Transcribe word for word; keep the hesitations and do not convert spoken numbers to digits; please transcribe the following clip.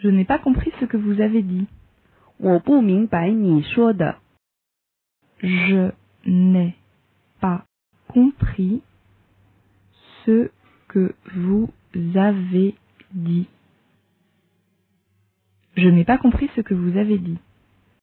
Je n'ai pas compris ce que vous avez dit. 我不明白你说的。 Je n'ai pas compris ce que vous avez dit. Je n'ai pas compris ce que vous avez dit.